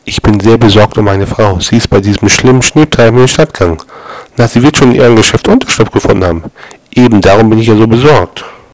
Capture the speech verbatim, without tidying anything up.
Ich bin sehr besorgt um meine Frau. Sie ist bei diesem schlimmen Schneetreiben in den Stadtgang. Na, sie wird schon in ihrem Geschäft Unterschlupf gefunden haben. Eben darum bin ich ja so besorgt.